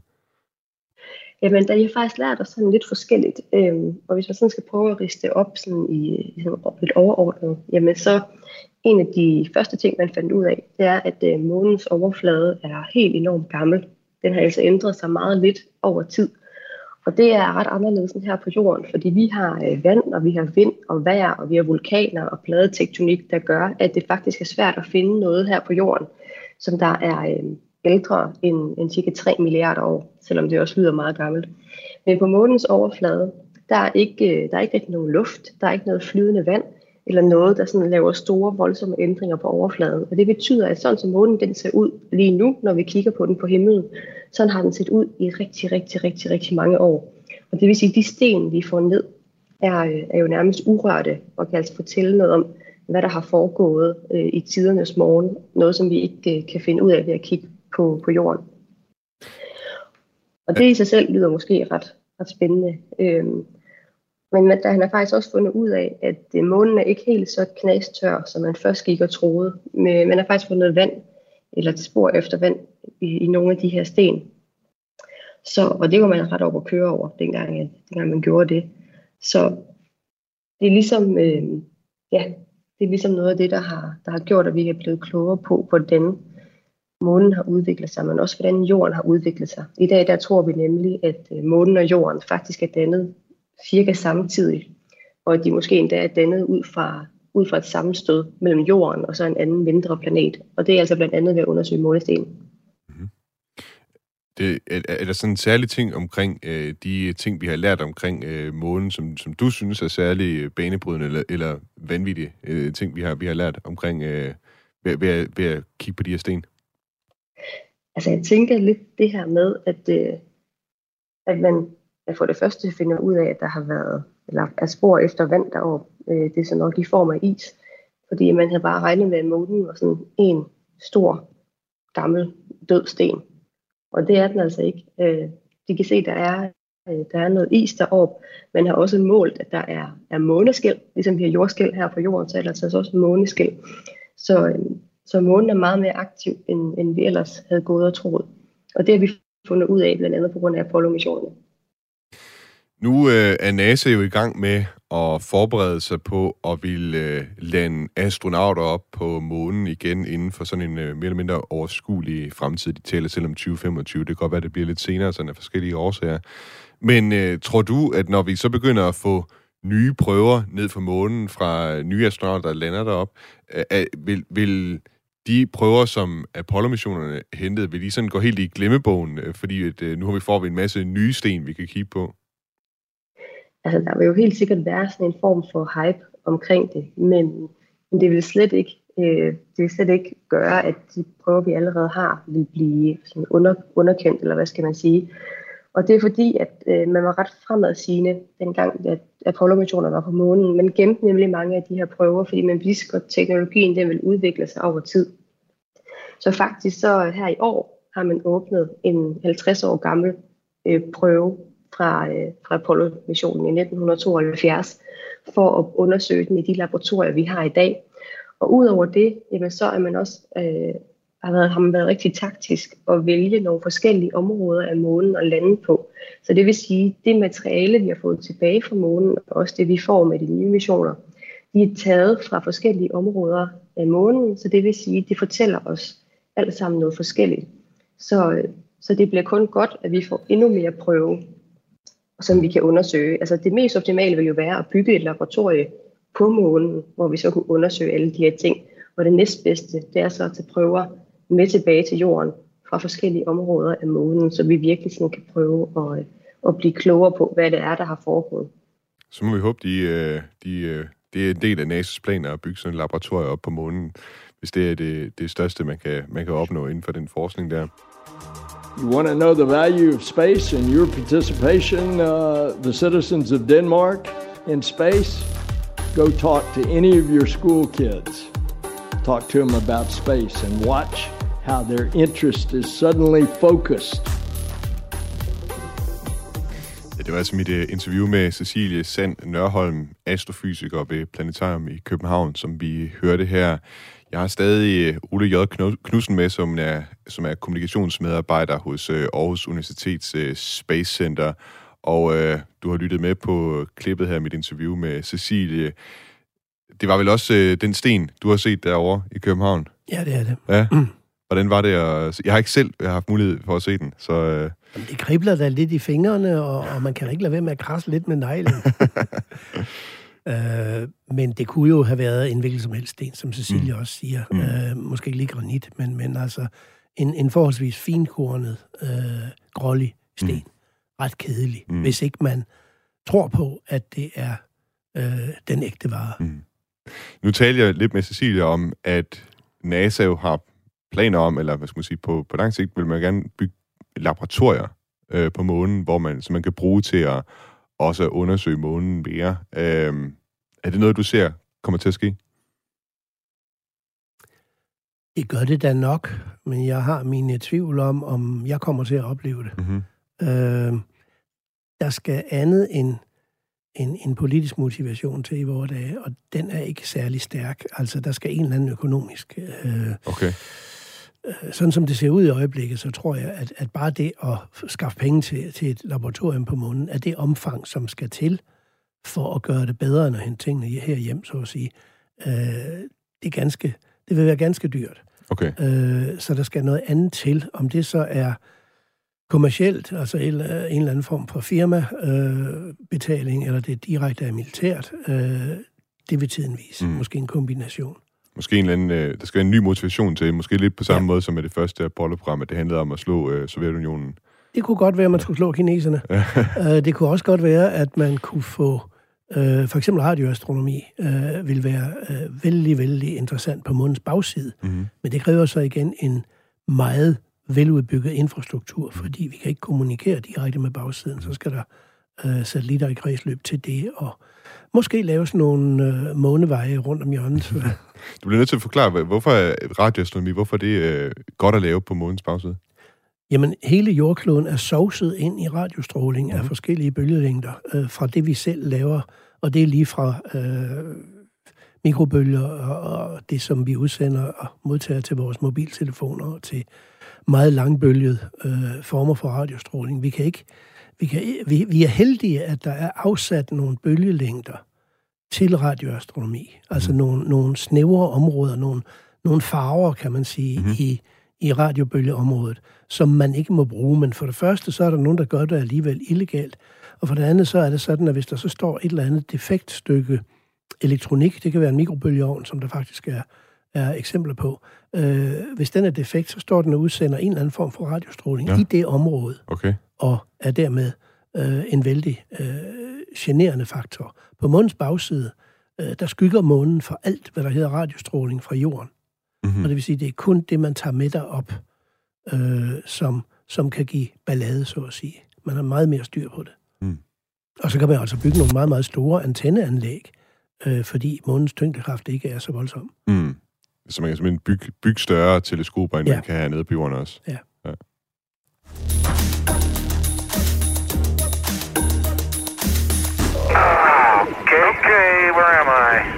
Jamen, der har faktisk lært os sådan lidt forskelligt. Øhm, og hvis man sådan skal prøve at riste op sådan i, i sådan lidt overordnet, jamen så en af de første ting, man fandt ud af, det er, at øh, månens overflade er helt enormt gammel. Den har altså ændret sig meget lidt over tid. Og det er ret anderledes end her på jorden, fordi vi har øh, vand, og vi har vind og vejr, og vi har vulkaner og pladetektonik, der gør, at det faktisk er svært at finde noget her på jorden, som der er øh, ældre end, end cirka tre milliarder år, selvom det også lyder meget gammelt. Men på månens overflade, der er ikke, øh, der er ikke rigtig nogen luft, der er ikke noget flydende vand, eller noget, der sådan laver store, voldsomme ændringer på overfladen. Og det betyder, at sådan som månen den ser ud lige nu, når vi kigger på den på himlen, sådan har den set ud i rigtig, rigtig, rigtig, rigtig mange år. Og det vil sige, at de sten, vi får ned, er, er jo nærmest urørte, og kan altså fortælle noget om, hvad der har foregået øh, i tidernes morgen. Noget, som vi ikke øh, kan finde ud af ved at kigge på, på jorden. Og det i sig selv lyder måske ret, ret spændende. Øhm, Men der, han har faktisk også fundet ud af, at månen er ikke helt så knastør, som man først gik og troede. Men man har faktisk fundet vand, eller et spor efter vand, i, i nogle af de her sten. Så, og det var man ret op at køre over, dengang, dengang man gjorde det. Så det er ligesom, øh, ja, det er ligesom noget af det, der har, der har gjort, at vi er blevet klogere på, hvordan månen har udviklet sig, men også hvordan jorden har udviklet sig. I dag der tror vi nemlig, at månen og jorden faktisk er dannet cirka samtidig, og at de måske endda er dannet ud fra, ud fra et sammenstød mellem jorden og så en anden mindre planet. Og det er altså blandt andet ved at undersøge månesten. Mm-hmm. Det, er, er der sådan en særlig ting omkring øh, de ting, vi har lært omkring øh, månen, som, som du synes er særlig banebrydende eller, eller vanvittige øh, ting, vi har, vi har lært omkring øh, ved, ved, ved at kigge på de her sten? Altså jeg tænker lidt det her med, at, øh, at man at for det første finder ud af, at der har været eller er spor efter vand deroppe. Øh, det er så nok i form af is. Fordi man havde bare regnet med, at månen var sådan en stor, gammel, død sten. Og det er den altså ikke. Øh, de kan se, at der er, øh, der er noget is deroppe. Man har også målt, at der er, er måneskæl. Ligesom vi har jordskæl her på jorden, så er der altså også måneskæl. Så, øh, så månen er meget mere aktiv, end, end vi ellers havde gået og troet. Og det har vi fundet ud af, blandt andet på grund af Apollo-missionerne. Nu øh, er NASA jo i gang med at forberede sig på at ville øh, lande astronauter op på månen igen inden for sådan en øh, mere eller mindre overskuelig fremtid. De taler selv om tyve femogtyve. Det kan godt være, at det bliver lidt senere, sådan af forskellige årsager. Men øh, tror du, at når vi så begynder at få nye prøver ned fra månen fra nye astronauter, der lander derop, øh, vil, vil de prøver, som Apollo-missionerne hentede, vil de sådan gå helt i glemmebogen, øh, fordi at, øh, nu har vi får vi en masse nye sten, vi kan kigge på? Altså, der vil jo helt sikkert være sådan en form for hype omkring det, men, men det vil slet ikke, øh, det vil slet ikke gøre, at de prøver, vi allerede har, vil blive sådan under, underkendt, eller hvad skal man sige. Og det er fordi, at øh, man var ret fremadsigende, dengang at Apollo-missionerne var på månen. Man gemte nemlig mange af de her prøver, fordi man vidste godt, at teknologien den vil udvikle sig over tid. Så faktisk så her i år har man åbnet en halvtreds år gammel øh, prøve, fra, øh, fra Apollo-missionen i nitten tooghalvfjerds, for at undersøge den i de laboratorier, vi har i dag. Og udover det, jamen, så er man også, øh, har, været, har man været rigtig taktisk at vælge nogle forskellige områder af månen at lande på. Så det vil sige, det materiale, vi har fået tilbage fra månen, og også det, vi får med de nye missioner, de er taget fra forskellige områder af månen, så det vil sige, det fortæller os alt sammen noget forskelligt. Så, så det bliver kun godt, at vi får endnu mere prøve, som vi kan undersøge. Altså det mest optimale vil jo være at bygge et laboratorie på månen, hvor vi så kunne undersøge alle de her ting. Og det næstbedste, det er så at tage prøver med tilbage til jorden fra forskellige områder af månen, så vi virkelig sådan kan prøve at, at blive klogere på, hvad det er, der har foregået. Så må vi håbe, de, de, det er en del af N A S A's planer at bygge sådan et laboratorium op på månen, hvis det er det, det største, man kan, man kan opnå inden for den forskning der. You want to know the value of space and your participation, uh, the citizens of Denmark, in space? Go talk to any of your school kids. Talk to them about space and watch how their interest is suddenly focused. Det var altså mit uh, interview med Cecilie Sand Nørholm, astrofysiker ved Planetarium i København, som vi hørte her. Jeg har stadig Ole J. Knudsen med, som er, som er kommunikationsmedarbejder hos uh, Aarhus Universitets uh, Space Center. Og uh, du har lyttet med på klippet her, mit interview med Cecilie. Det var vel også uh, den sten, du har set derovre i København? Ja, det er det. Ja. Mm. Hvordan var det at... Jeg har ikke selv jeg har haft mulighed for at se den, så... Uh... Jamen, det kribler da lidt i fingrene, og, og man kan ikke lade være med at krasse lidt med neglen. øh, men det kunne jo have været en hvilken som helst sten, som Cecilie mm. også siger. Mm. Øh, måske ikke lige granit, men, men altså en, en forholdsvis finkornet, øh, grålig sten. Mm. Ret kedelig, mm. hvis ikke man tror på, at det er øh, den ægte vare. Mm. Nu taler jeg lidt med Cecilie om, at NASA jo har planer om, eller hvad skal man sige, på, på lang sigt vil man gerne bygge laboratorier øh, på månen, hvor man, så man kan bruge til at også undersøge månen mere. Øh, er det noget, du ser kommer til at ske? Det gør det da nok, men jeg har mine tvivl om, om jeg kommer til at opleve det. Mm-hmm. Øh, der skal andet end en, en politisk motivation til i vores dage, og den er ikke særlig stærk. Altså, der skal en eller anden økonomisk... Øh, okay. Sådan som det ser ud i øjeblikket, så tror jeg, at, at bare det at skaffe penge til, til et laboratorium på månen, er det omfang, som skal til for at gøre det bedre, end at hente tingene herhjem, så at sige. Øh, det, er ganske, det vil være ganske dyrt. Okay. Øh, så der skal noget andet til. Om det så er kommercielt, altså en, en eller anden form for firmabetaling, øh, eller det direkte er militært, øh, det vil tiden vise. Mm. Måske en kombination. Måske en eller anden, øh, der skal være en ny motivation til, måske lidt på samme ja. måde som med det første Apollo-program, at det handlede om at slå øh, Sovjetunionen. Det kunne godt være, at man skulle slå kineserne. uh, det kunne også godt være, at man kunne få, uh, for eksempel radioastronomi, uh, vil være uh, vældig, vældig interessant på månens bagside. Mm-hmm. Men det kræver så igen en meget veludbygget infrastruktur, fordi vi kan ikke kommunikere direkte med bagsiden. Så skal der uh, satellitter i kredsløb til det, og måske laves nogle øh, måneveje rundt om hjørnet. Du bliver nødt til at forklare, hvorfor er radioastronomi, hvorfor er det øh, godt at lave på månens bagside? Jamen, hele jordkloden er sovset ind i radiostråling mm-hmm. af forskellige bølgelængder øh, fra det, vi selv laver, og det er lige fra øh, mikrobølger og, og det, som vi udsender og modtager til vores mobiltelefoner, til meget langbølgede øh, former for radiostråling. Vi kan ikke Vi, kan, vi, vi er heldige, at der er afsat nogle bølgelængder til radioastronomi. Altså mm. nogle, nogle snævre områder, nogle, nogle farver, kan man sige, mm. i, i radiobølgeområdet, som man ikke må bruge. Men for det første, så er der nogen, der gør det alligevel illegalt. Og for det andet, så er det sådan, at hvis der så står et eller andet defekt stykke elektronik, det kan være en mikrobølgeovn, som der faktisk er, er eksempler på. Øh, hvis den er defekt, så står den og udsender en eller anden form for radiostråling ja. i det område. Okay. Og er dermed øh, en vældig øh, generende faktor. På månens bagside, øh, der skygger månen for alt, hvad der hedder radiostråling fra jorden. Mm-hmm. Og det vil sige, det er kun det, man tager med derop, øh, som, som kan give ballade, så at sige. Man har meget mere styr på det. Mm. Og så kan man altså bygge nogle meget, meget store antenneanlæg, øh, fordi månens tyngdekraft ikke er så voldsom. Mm. Så man kan simpelthen bygge, bygge større teleskoper, end ja. man kan have nede på jorden også. Ja. ja. Okay, where am I?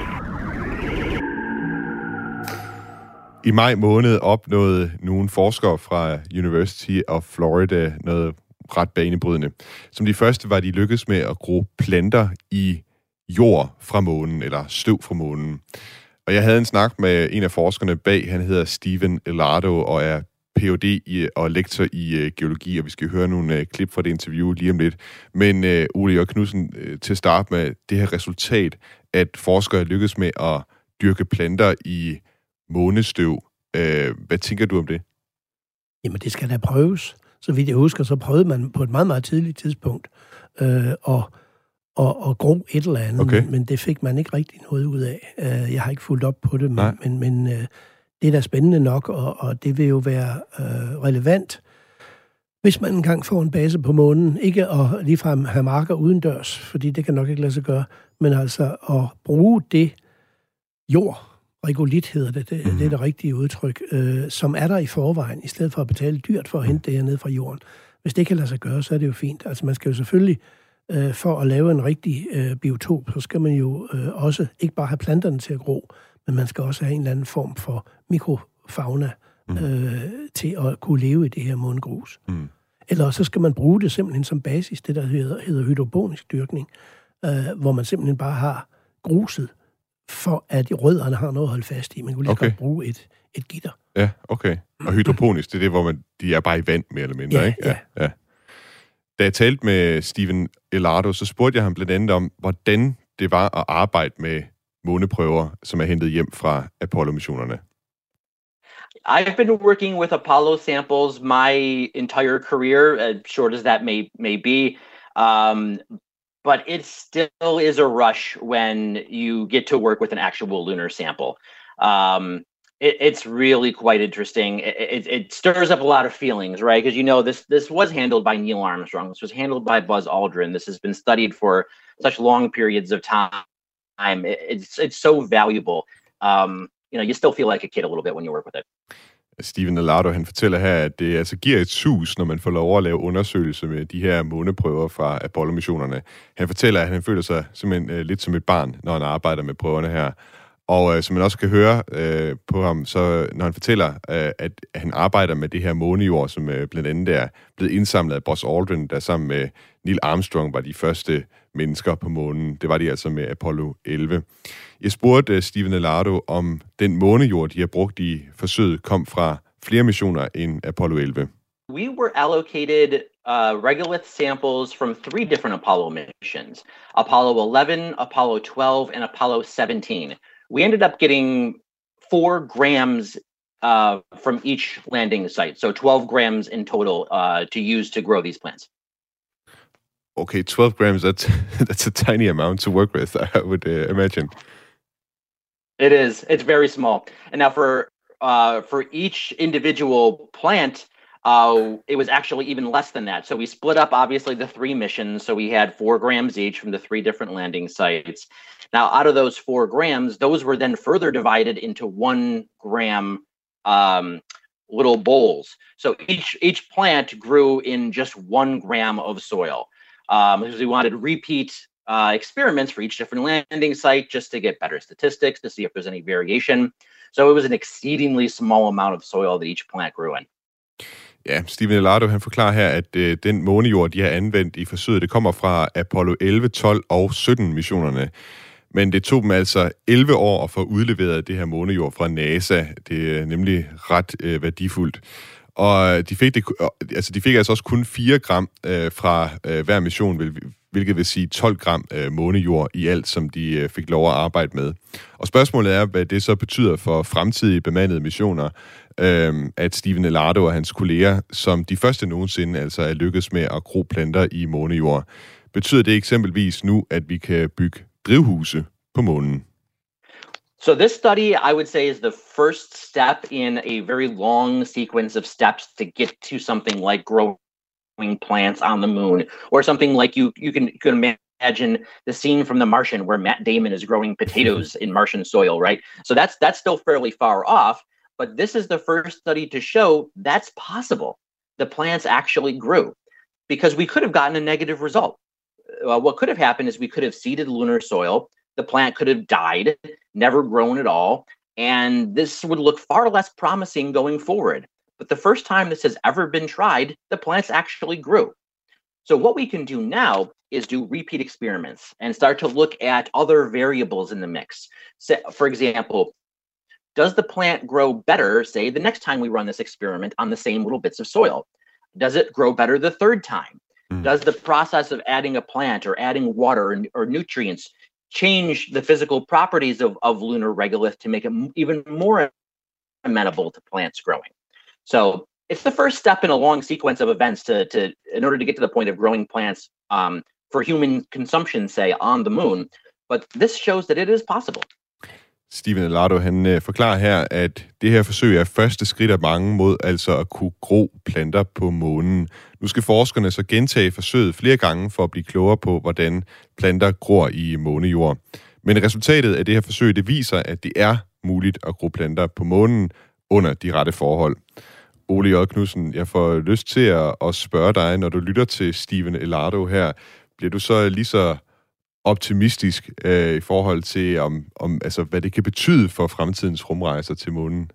I maj måned opnåede nogle forskere fra University of Florida noget ret banebrydende. Som de første var de lykkedes med at gro planter i jord fra månen, eller støv fra månen. Og jeg havde en snak med en af forskerne bag, han hedder Steven Ellardo, og er P H D i, og lektor i uh, geologi, og vi skal høre nogle uh, klip fra det interview lige om lidt. Men uh, Ole J. Knudsen, uh, til at starte med det her resultat, at forskere lykkes med at dyrke planter i månestøv. Uh, hvad tænker du om det? Jamen, det skal da prøves. Så vidt jeg husker, så prøvede man på et meget, meget tidligt tidspunkt øh, at, at, at gro et eller andet, okay. men, men det fik man ikke rigtig noget ud af. Uh, jeg har ikke fulgt op på det, men, men, men uh, det er da spændende nok, og, og det vil jo være øh, relevant, hvis man engang får en base på månen. Ikke at ligefrem have marker udendørs, fordi det kan nok ikke lade sig gøre, men altså at bruge det jord, regolit hedder det, det, mm. det er det rigtige udtryk, øh, som er der i forvejen, i stedet for at betale dyrt for at hente det her ned fra jorden. Hvis det kan lade sig gøre, så er det jo fint. Altså man skal jo selvfølgelig øh, for at lave en rigtig øh, biotop, så skal man jo øh, også ikke bare have planterne til at gro, men man skal også have en eller anden form for mikrofauna mm. øh, til at kunne leve i det her månegrus. Mm. Eller så skal man bruge det simpelthen som basis, det der hedder, hedder hydroponisk dyrkning, øh, hvor man simpelthen bare har gruset, for at rødderne har noget at holde fast i. Man kunne lige okay. godt bruge et, et gitter. Ja, okay. Og hydroponisk, det er det, hvor man, de er bare i vand, mere eller mindre, ja, ikke? Ja, ja. Da jeg talte med Stephen Ellardo, så spurgte jeg ham blandt andet om, hvordan det var at arbejde med måneprøver, som er hentet hjem fra Apollo-missionerne. I've been working with Apollo samples my entire career, as short as that may may be. Um, but it still is a rush when you get to work with an actual lunar sample. Um, it, it's really quite interesting. It, it, it stirs up a lot of feelings, right? Because you know this this was handled by Neil Armstrong. This was handled by Buzz Aldrin. This has been studied for such long periods of time. It, it's it's so valuable. Um, you know, you still feel like a kid a little bit when you work with it. Stephen Ellardo, han fortæller her, at det altså giver et sus, når man får lov at lave undersøgelser med de her måneprøver fra Apollo-missionerne. Han fortæller, at han føler sig simpelthen uh, lidt som et barn, når han arbejder med prøverne her. Og uh, som man også kan høre uh, på ham, så når han fortæller, uh, at han arbejder med det her månejord, som uh, blandt andet er blevet indsamlet af Buzz Aldrin, der sammen med Neil Armstrong var de første mennesker på månen. Det var de altså med Apollo elleve. Jeg spurgte uh, Stephen Ellardo, om den månejord, de har brugt i forsøget, kom fra flere missioner end Apollo elleve. We were allocated uh, regolith samples from three different Apollo missions: Apollo eleven, Apollo twelve, and Apollo seventeen. We ended up getting four grams uh, from each landing site, so twelve grams in total uh, to use to grow these plants. Okay, twelve grams, that's, that's a tiny amount to work with, I would uh, imagine. It is. It's very small. And now for uh, for each individual plant, uh, it was actually even less than that. So we split up, obviously, the three missions. So we had four grams each from the three different landing sites. Now, out of those four grams, those were then further divided into one gram um, little bowls. So each each plant grew in just one gram of soil. Um, because we wanted repeat uh, experiments for each different landing site just to get better statistics, to see if there's any variation. So it was an exceedingly small amount of soil that each plant grew in. Ja, Stephen Ellardo, han forklarer her, at øh, den månejord, de har anvendt i forsøget, det kommer fra Apollo elleve, tolv og sytten missionerne. Men det tog dem altså elleve år at få udleveret det her månejord fra NASA. Det er nemlig ret øh, værdifuldt. Og de fik, det, altså de fik altså også kun fire gram øh, fra øh, hver mission, hvilket vil sige tolv gram øh, månejord i alt, som de øh, fik lov at arbejde med. Og spørgsmålet er, hvad det så betyder for fremtidige bemandede missioner, øh, at Stephen Ellardo og hans kolleger, som de første nogensinde altså er lykkedes med at gro planter i månejord. Betyder det eksempelvis nu, at vi kan bygge drivhuse på månen? So this study, I would say, is the first step in a very long sequence of steps to get to something like growing plants on the moon, or something like you you can you can imagine the scene from The Martian where Matt Damon is growing potatoes in Martian soil, right? So that's that's still fairly far off, but this is the first study to show that's possible. The plants actually grew, because we could have gotten a negative result. Uh, what could have happened is we could have seeded lunar soil. The plant could have died, never grown at all, and this would look far less promising going forward. But the first time this has ever been tried, the plants actually grew. So what we can do now is do repeat experiments and start to look at other variables in the mix. So, for example, does the plant grow better, say, the next time we run this experiment on the same little bits of soil? Does it grow better the third time? Mm. Does the process of adding a plant or adding water or, or nutrients change the physical properties of, of lunar regolith to make it m- even more amenable to plants growing? So it's the first step in a long sequence of events to, to in order to get to the point of growing plants um, for human consumption, say, on the moon. But this shows that it is possible. Stephen Ellardo, han øh, forklarer her, at det her forsøg er første skridt af mange mod altså at kunne gro planter på månen. Nu skal forskerne så gentage forsøget flere gange for at blive klogere på, hvordan planter gror i månejord. Men resultatet af det her forsøg, det viser, at det er muligt at gro planter på månen under de rette forhold. Ole J. Knudsen, jeg får lyst til at, at spørge dig, når du lytter til Stephen Ellardo her, bliver du så lige så optimistisk øh, i forhold til, om, om, altså, hvad det kan betyde for fremtidens rumrejser til månen?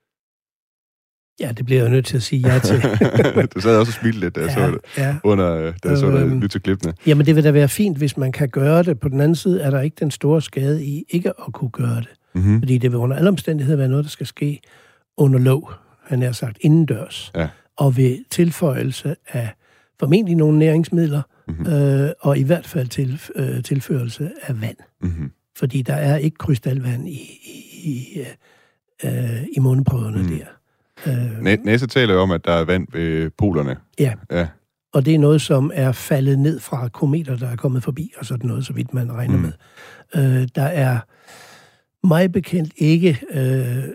Ja, det bliver jeg nødt til at sige ja til. Du sad også og smilte lidt, da jeg ja, så det, ja. under, da jeg så øhm, det, lytte til klippene. Jamen, det vil da være fint, hvis man kan gøre det. På den anden side er der ikke den store skade i ikke at kunne gøre det. Mm-hmm. Fordi det vil under alle omstændigheder være noget, der skal ske under lov, han har sagt, indendørs. Ja. Og ved tilføjelse af formentlig nogle næringsmidler, mm-hmm. øh, og i hvert fald til, øh, tilførelse af vand. Mm-hmm. Fordi der er ikke krystalvand i, i, i, øh, i måneprøverne mm. der. Øh, NASA taler jo om, at der er vand ved polerne. Ja. ja, og det er noget, som er faldet ned fra kometer, der er kommet forbi, og sådan noget, så vidt man regner mm. med. Øh, der er meget bekendt ikke øh,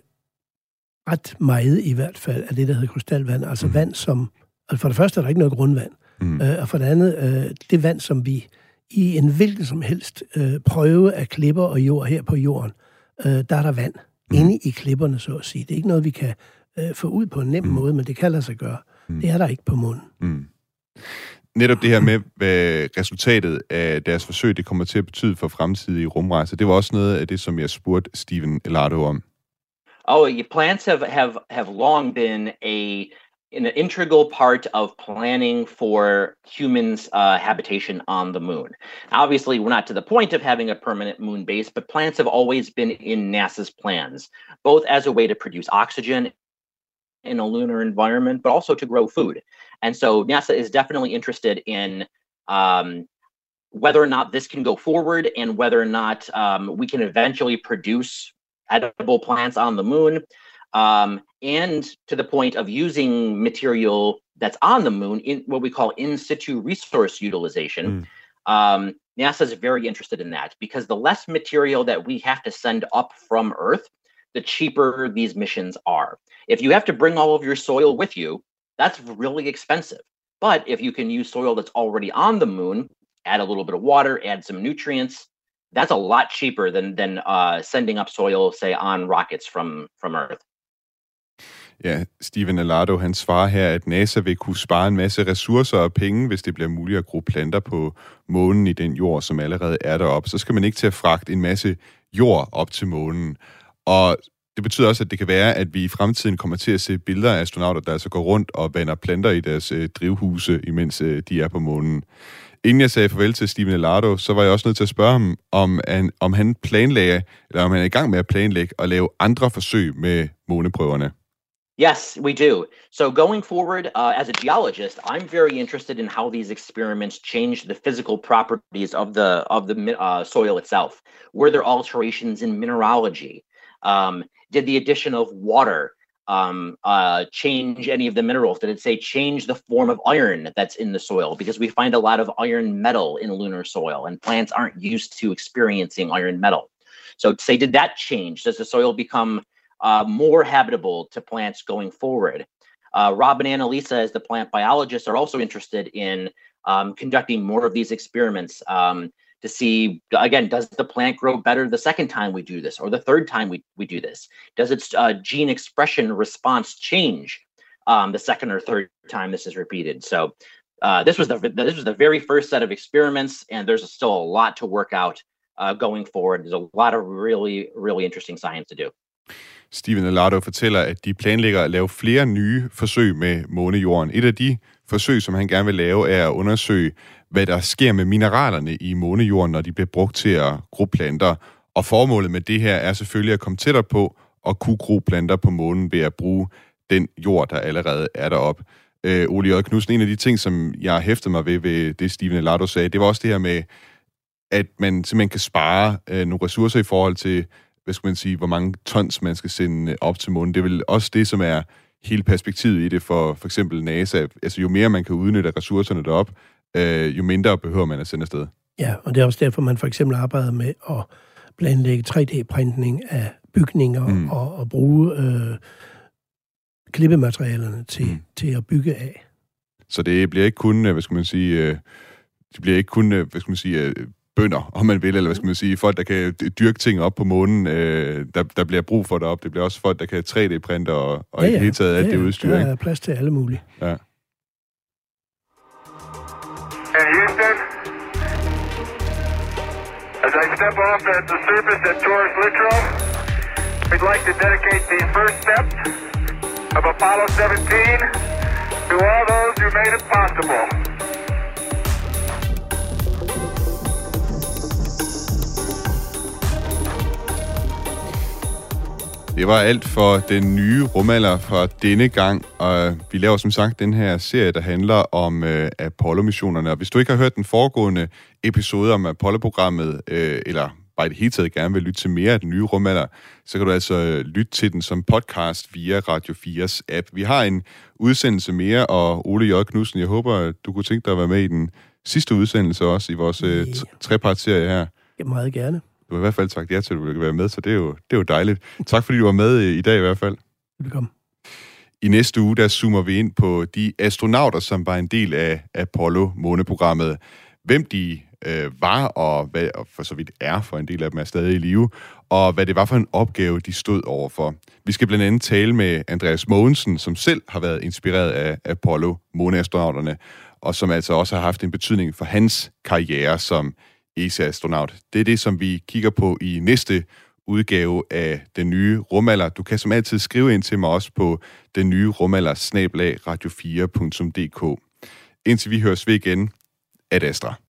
ret meget i hvert fald af det, der hedder krystalvand. Altså mm. vand, som... Altså for det første er der ikke noget grundvand. Mm. Øh, og for det andet, øh, det vand, som vi i en hvilken som helst øh, prøve af klipper og jord her på jorden, øh, der er der vand mm. inde i klipperne, så at sige. Det er ikke noget, vi kan øh, få ud på en nem mm. måde, men det kan lade sig gøre. Mm. Det er der ikke på månen. Mm. Netop det her med, hvad resultatet af deres forsøg, det kommer til at betyde for fremtidige rumrejser, det var også noget af det, som jeg spurgte Stephen Ellardo om. Oh, plants have, have, have long been a an integral part of planning for humans' uh, habitation on the moon. Obviously, we're not to the point of having a permanent moon base, but plants have always been in NASA's plans, both as a way to produce oxygen in a lunar environment, but also to grow food. And so NASA is definitely interested in um, whether or not this can go forward and whether or not um, we can eventually produce edible plants on the moon. Um, and to the point of using material that's on the moon in what we call in situ resource utilization. Mm. Um, NASA is very interested in that because the less material that we have to send up from Earth, the cheaper these missions are. If you have to bring all of your soil with you, that's really expensive. But if you can use soil that's already on the moon, add a little bit of water, add some nutrients, that's a lot cheaper than than uh, sending up soil, say, on rockets from, from Earth. Ja, Stephen Ellardo, han svarer her, at NASA vil kunne spare en masse ressourcer og penge, hvis det bliver muligt at gro planter på månen i den jord, som allerede er deroppe. Så skal man ikke til at fragte en masse jord op til månen. Og det betyder også, at det kan være, at vi i fremtiden kommer til at se billeder af astronauter, der altså går rundt og vander planter i deres øh, drivhuse, imens øh, de er på månen. Inden jeg sagde farvel til Stephen Ellardo, så var jeg også nødt til at spørge ham, om han, om han planlagde, eller om han er i gang med at planlægge og lave andre forsøg med måneprøverne. Yes, we do. So going forward, uh, as a geologist, I'm very interested in how these experiments change the physical properties of the of the uh, soil itself. Were there alterations in mineralogy? Um, did the addition of water um, uh, change any of the minerals? Did it say change the form of iron that's in the soil? Because we find a lot of iron metal in lunar soil, and plants aren't used to experiencing iron metal. So say, did that change? Does the soil become Uh, more habitable to plants going forward? Uh, Rob and Annalisa, as the plant biologists, are also interested in um, conducting more of these experiments um, to see, again, does the plant grow better the second time we do this, or the third time we, we do this? Does its uh, gene expression response change um, the second or third time this is repeated? So uh, this was the this was the very first set of experiments, and there's still a lot to work out uh, going forward. There's a lot of really, really interesting science to do. Stephen Ellardo fortæller, at de planlægger at lave flere nye forsøg med månejorden. Et af de forsøg, som han gerne vil lave, er at undersøge, hvad der sker med mineralerne i månejorden, når de bliver brugt til at gro planter. Og formålet med det her er selvfølgelig at komme tættere på at kunne gro planter på månen ved at bruge den jord, der allerede er deroppe. Øh, Ole J. Knudsen, en af de ting, som jeg hæftede mig ved, ved det Stephen Ellardo sagde, det var også det her med, at man simpelthen kan spare øh, nogle ressourcer i forhold til, hvad skal man sige, hvor mange tons man skal sende op til månen. Det er vel også det, som er hele perspektivet i det for for eksempel NASA. Altså jo mere man kan udnytte ressourcerne derop, øh, jo mindre behøver man at sende afsted. Ja, og det er også derfor, man for eksempel arbejder med at planlægge tre D-printning af bygninger mm. og, og bruge øh, klippematerialerne til, mm. til at bygge af. Så det bliver ikke kun, hvad skal man sige, øh, det bliver ikke kun, hvad skal man sige, øh, bønder, om man vil, eller hvad skal man sige, folk, der kan dyrke ting op på månen, øh, der, der bliver brug for det op. Det bliver også folk, der kan tre D-printe og, og ja, ja. i det hele taget alt ja, ja. det udstyr. Der er plads til alle mulige. Ja. And Houston, As I step off at the surface at Taurus Littrow, we'd like to dedicate the first steps of Apollo seventeen to all those who made it possible. Det var alt for den nye rumalder fra denne gang, og vi laver som sagt den her serie, der handler om øh, Apollo-missionerne. Og hvis du ikke har hørt den foregående episode om Apollo-programmet, øh, eller bare i det hele taget gerne vil lytte til mere af den nye rumalder, så kan du altså lytte til den som podcast via Radio fires app. Vi har en udsendelse mere, og Ole J. Knudsen, jeg håber, du kunne tænke dig at være med i den sidste udsendelse også i vores øh, trepartsserie her. Ja, meget gerne. Du har i hvert fald sagt ja til, at du vil være med, så det er jo, det er jo dejligt. Tak fordi du var med i dag i hvert fald. Velkommen. I næste uge, der zoomer vi ind på de astronauter, som var en del af Apollo-måneprogrammet. Hvem de øh, var, og hvad og for så vidt er, for en del af dem er stadig i live, og hvad det var for en opgave, de stod overfor. Vi skal blandt andet tale med Andreas Mogensen, som selv har været inspireret af Apollo-måneastronauterne, og som altså også har haft en betydning for hans karriere som E S A-astronaut. Det er det, som vi kigger på i næste udgave af Den Nye Rumalder. Du kan som altid skrive ind til mig også på den nye rumalder snabel-a radio fire punktum d k. Indtil vi høres ved igen, ad Astra.